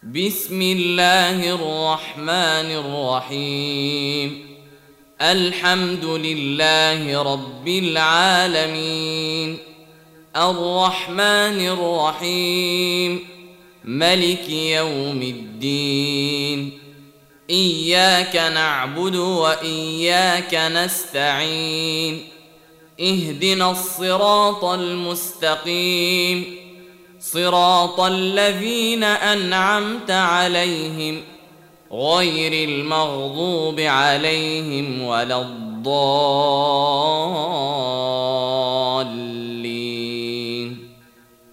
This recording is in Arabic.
بسم الله الرحمن الرحيم. الحمد لله رب العالمين، الرحمن الرحيم، ملك يوم الدين. إياك نعبد وإياك نستعين، اهدنا الصراط المستقيم، صراط الذين أنعمت عليهم غير المغضوب عليهم ولا الضالين.